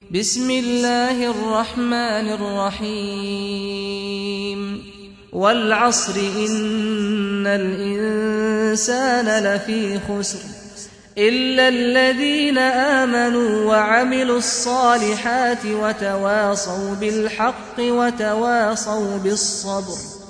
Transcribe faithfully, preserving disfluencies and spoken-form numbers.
بسم الله الرحمن الرحيم والعصر إن الإنسان لفي خسر إلا الذين آمنوا وعملوا الصالحات وتواصوا بالحق وتواصوا بالصبر